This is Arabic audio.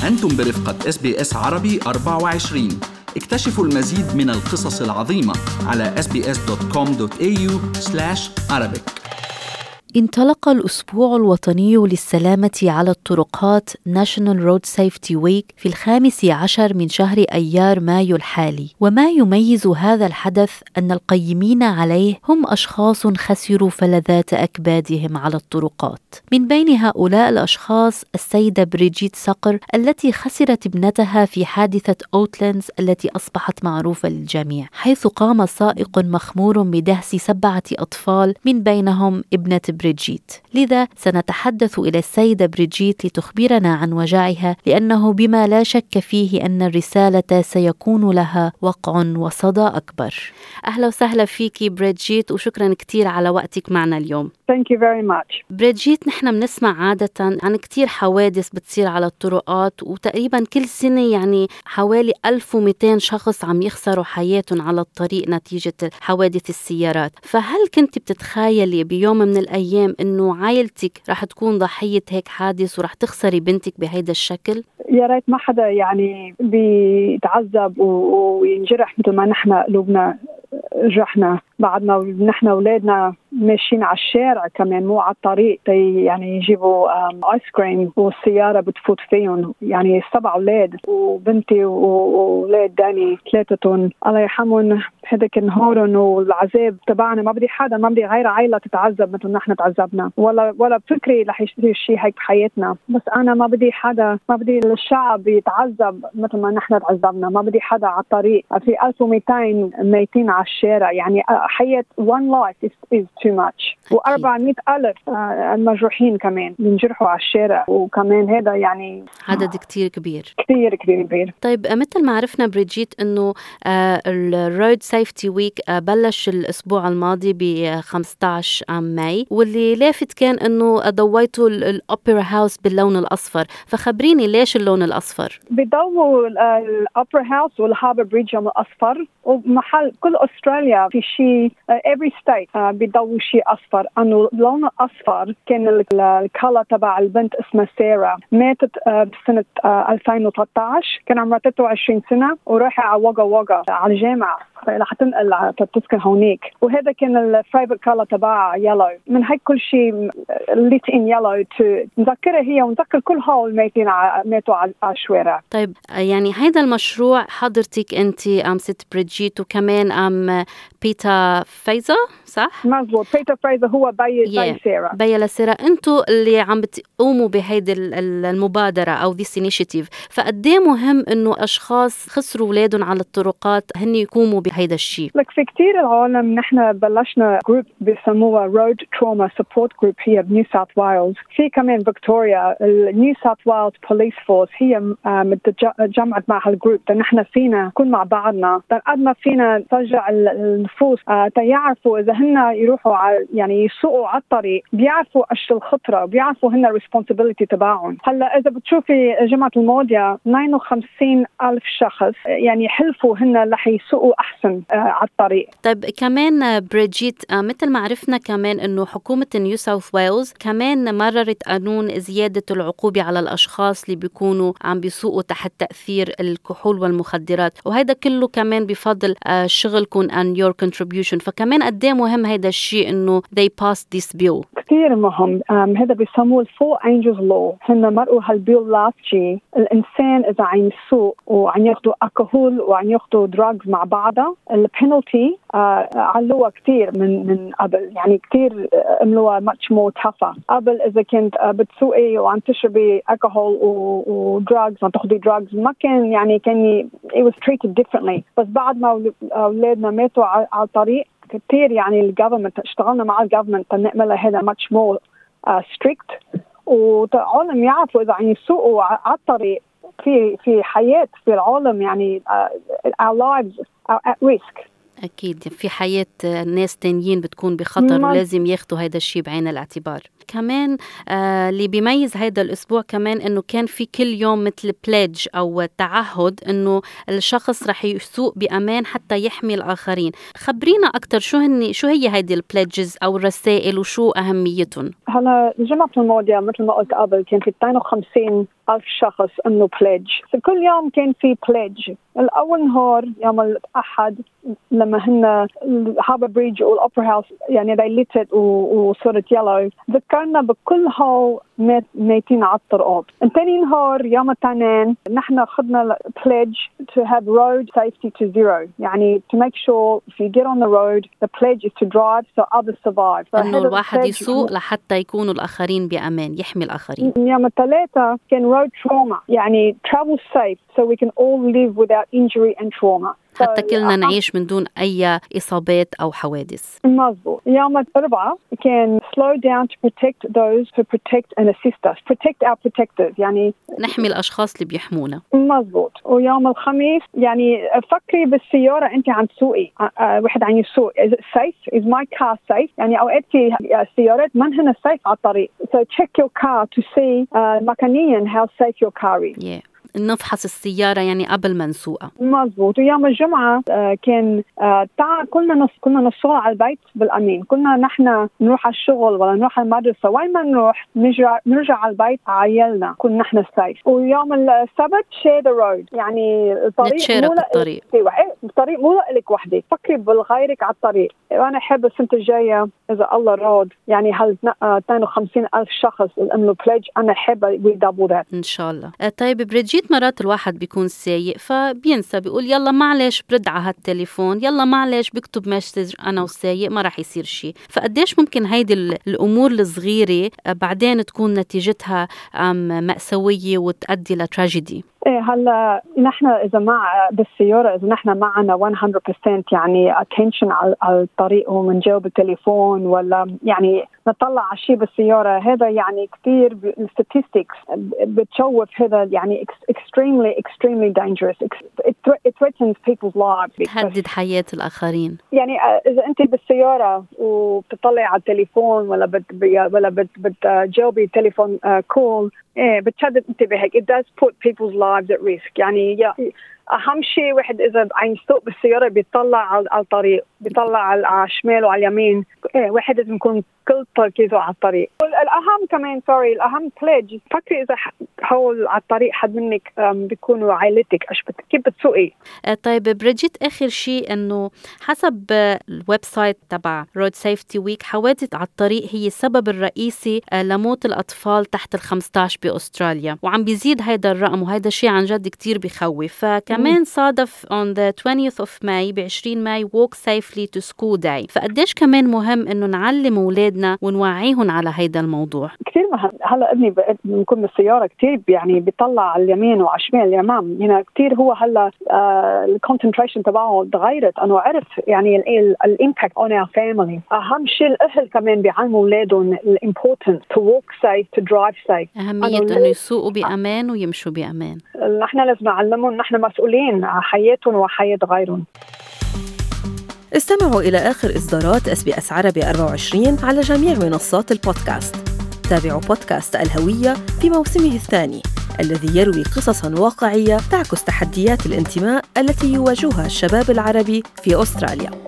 أنتم برفقة SBS عربي 24. اكتشفوا المزيد من القصص العظيمة على sbs.com.au/Arabic. انطلق الأسبوع الوطني للسلامة على الطرقات National Road Safety Week في 15 من شهر أيار مايو الحالي، وما يميز هذا الحدث أن القيمين عليه هم أشخاص خسروا فلذات أكبادهم على الطرقات. من بين هؤلاء الأشخاص السيدة بريجيت صقر التي خسرت ابنتها في حادثة أوتلاندز التي أصبحت معروفة للجميع، حيث قام سائق مخمور بدهس 7 أطفال من بينهم ابنة بريجيت. لذا سنتحدث إلى السيدة بريجيت لتخبرنا عن وجعها، لأنه بما لا شك فيه أن الرسالة سيكون لها وقع وصدى أكبر. أهلا وسهلا فيكي بريجيت، وشكرا كتير على وقتك معنا اليوم. Thank you very much. بريجيت، نحن بنسمع عادة عن كتير حوادث بتصير على الطرقات، وتقريبا كل سنة يعني حوالي 1200 شخص عم يخسروا حياتهم على الطريق نتيجة حوادث السيارات. فهل كنت بتتخيلي بيوم من الأيام إنه عائلتك رح تكون ضحية هيك حادث ورح تخسري بنتك بهيدا الشكل؟ يا ريت ما حدا يعني بيتعذب وينجرح مثل ما نحن قلوبنا جرحنا بعدنا ونحن أولادنا ماشيين على الشارع كمان مو على الطريق يعني يجيبوا آيس كريم والسيارة بتفوت فيهم. يعني 7 أولاد وبنتي وولاد داني 3 الله يرحمهم. هذاك النهارن والعذاب تبعنا ما بدي غير عائلة تتعذب مثل نحن تعذبنا، ولا بفكري رح يصير شيء هيك بحياتنا. بس أنا ما بدي الشعب يتعذب مثل ما نحن تعذبنا. ما بدي حدا على الطريق. في 1200 ميتين على الشارع، يعني حياة one life is too much. و400,000 المجروحين كمان ينجرحوا على الشارع، وكمان هذا يعني عدد كتير كبير. طيب مثل ما عرفنا بريجيت إنه الرود سيفتي ويك بلش الأسبوع الماضي ب15 ماي، واللي لافت كان إنه ضويتوا الأوبرا هاوس باللون الأصفر. فخبريني ليش اللون الأصفر؟ بيضووا الأوبرا هاوس والهاربر بريدج الأصفر، ومحل كل أستراليا في شيء every state بيضووا شيء أصفر. أنه اللون الأصفر كان الكلا تبع البنت اسمها سارة، ماتت بسنة 2013، كان عمرها 23 سنة، وراحة على وغا على الجامعة رح تنقل تسكن هونيك. وهذا كان الفايفت كلا تبع يلو. من هيك كل شيء ليت ان يلو نذكرها هي ونذكر كل هول الميتين ماتوا على الشوارع. طيب يعني هيدا المشروع حضرتك انت ست بريجيت، وكمان بيتا فايزا، صح؟ مزبوط. بيتا فايزا هو بي لسيرة. انتوا اللي عم بتقوموا بهيدي المبادرة او this initiative. فقديه مهم انه اشخاص خسروا اولادهم على الطرقات هن يقوموا بهيدا الشيء؟ لك في كتير العالم نحن بلشنا جروب بيسموها Road Trauma Support Group هي بنيو ساوث وايلز. في كمان فيكتوريا النيو ساوث وايلز بوليس فورس هي جمعت مع هالجروب. نحن فينا نكون مع بعضنا قد ما فينا نرجع النفوس تيعرفوا اذا هن يروحوا يعني يسوقوا على الطريق بيعرفوا ايش الخطره، بيعرفوا هن الريسبونسبيلتي تبعهم. هلا اذا بتشوفي جمعة الماضية 59,000 شخص يعني حلفوا هن رح يسوقوا احسن على الطريق. طيب كمان بريجيت، مثل ما عرفنا كمان انه حكومة نيو ساوث ويلز كمان مررت قانون زيادة العقوبة على الاشخاص اللي بيكونوا عم بيسوقوا تحت تأثير الكحول والمخدرات، وهذا كله كمان بفضل شغلكم and your contribution. فكمان قد ايه مهم هيدا الشيء انه they passed this bill؟ كثير مهم. هذا بيسموه Four Angels Law. هن مرقوا هالبيل لاست شيء. الانسان اذا عم يسوق وعم ياخذوا الكحول وعم ياخذوا دراجز مع بعضها، البينالتي علوها كثير من قبل. يعني كثير عملوها much more tougher. قبل اذا كنت بتسوقي وعم تشربي الكحول ودراجز، عم تاخذي دراجز، ما كان يعني كان it was treated differently. بس بعد ما اولادنا ماتوا على الطريق كتير يعني الجوفرمنت اشتغلنا مع الجوفرمنت نعملها هذا much more strict. والعالم يعرفوا إذا عم يسوقوا على الطريق في حياة في العالم، يعني our lives are at risk. أكيد في حياة ناس تانيين بتكون بخطر، ولازم ياخدوا هيدا الشيء بعين الاعتبار. كمان اللي بيميز هيدا الأسبوع كمان إنه كان في كل يوم مثل بليدج أو تعهد إنه الشخص رح يسوق بأمان حتى يحمي الآخرين. خبرينا أكتر شو هي هيدي البليدجز أو الرسائل وشو أهميتهم؟ هلا الجمعة الماضية مثل ما قلت قبل كان في 52 ألف شخص إنه pledge. كل يوم كان في pledge. الأول نهار يوم الأحد لما هن هاربر بريدج والأوبرا هاوس يعني they lit it وصورت يلو، ذكرنا بكل هول ميتين على الطرقات. تاني نهار يوم الاثنين نحن خدنا pledge to have road safety to zero، يعني to make sure if you get on the road the pledge is to drive so others survive. إنه الواحد يسوق لحتى يكونوا الآخرين بأمان، يحمي الآخرين. يوم الثلاثة كان road trauma، يعني travel safe so we can all live without injury and trauma. حتى كلنا نعيش من دون أي إصابات أو حوادث. مظبوط. يوم الأربعاء كان slow down to protect those who protect and assist us. Protect our protectors، يعني نحمي الأشخاص اللي بيحمونا. مظبوط. ويوم الخميس يعني فكري بالسيارة أنت عم تسوقي، واحد عم يسوق is it safe? Is my car safe؟ يعني أوقات في سيارات ما هن safe على الطريق. So check your car to see مكانيا how safe your car is. Yeah. نفحص السيارة يعني قبل ما نسوقها. مظبوط. ويوم الجمعة كان كلنا نصل على البيت بالأمين. كلنا نحن نروح على الشغل ولا نروح على المدرسة، وين ما نروح نرجع على البيت عيالنا كنا نحن سايف. ويوم السبت share the road، يعني نتشارك الطريق. الطريق مو لك وحدة، فكري بالغيرك على الطريق. وأنا أحب السنة الجاية إذا الله راد يعني 52,000 شخص الأمن pledge، أنا أحب we double that إن شاء الله. طيب بريجيت، مرات الواحد بيكون سايق فبينسى، بيقول يلا معلش برد على هالتليفون، يلا معلش بكتب مسج أنا وسايق ما راح يصير شيء. فقديش ممكن هيدي الأمور الصغيرة بعدين تكون نتيجتها مأساوية وتؤدي لتراجيدي؟ هلا نحن إذا مع بالسيارة، إذا نحن معنا 100% يعني attention على الطريق ومنجاوب التليفون ولا يعني نطلع على شيء بالسيارة، هذا يعني كثير statistics بتشوف، هذا يعني extremely dangerous. It threatens people's lives. تهدد حياة الآخرين. يعني إذا أنت بالسيارة وبتطلع على التليفون ولا بتجاوبي تليفون كول، بتشدد انتباهك. It does put people's lives at risk. يعني أهم شيء واحد إذا عم يسوق بالسيارة بيطلع على الطريق، بيطلع على الشمال وعلى اليمين. واحد لازم يكون كل تركيزه على الطريق. الأهم كمان الأهم pledge، فكري إذا حول على الطريق حد منك بيكونوا عائلتك، كيف بتسوقي. طيب بريجيت، آخر شيء إنه حسب الويب سايت تبع Road Safety Week حوادث على الطريق هي السبب الرئيسي لموت الأطفال تحت 15 بأستراليا، وعم بيزيد هيدا الرقم، وهيدا شيء عن جد كتير بيخوف. فكمان صادف on the 20th of May ب20 ماي Walk Safely to School Day. فقديش كمان مهم إنه نعلم أولادنا ونوعيهم على هيدا الموضوع. كتير مهم. هلا ابني بنكون بالسيارة كتير يعني بيطلع على اليمين وعلى الشمال الأمام، يعني كتير هو هلا الكونسنتريشن تبعه تغيرت، أنه عرف يعني الإمباكت on our family. أهم شيء الأهل كمان بيعلموا أولادهم الإمبورتنس to walk safe to drive safe، أهمية إنه يسوقوا بأمان ويمشوا بأمان. نحن لازم نعلمهم، نحن مسؤولين عن حياتهم وحياة غيرهم. استمعوا إلى آخر إصدارات SBS عربي 24 على جميع منصات البودكاست. تابعوا بودكاست الهوية في موسمه الثاني الذي يروي قصصاً واقعية تعكس تحديات الانتماء التي يواجهها الشباب العربي في أستراليا.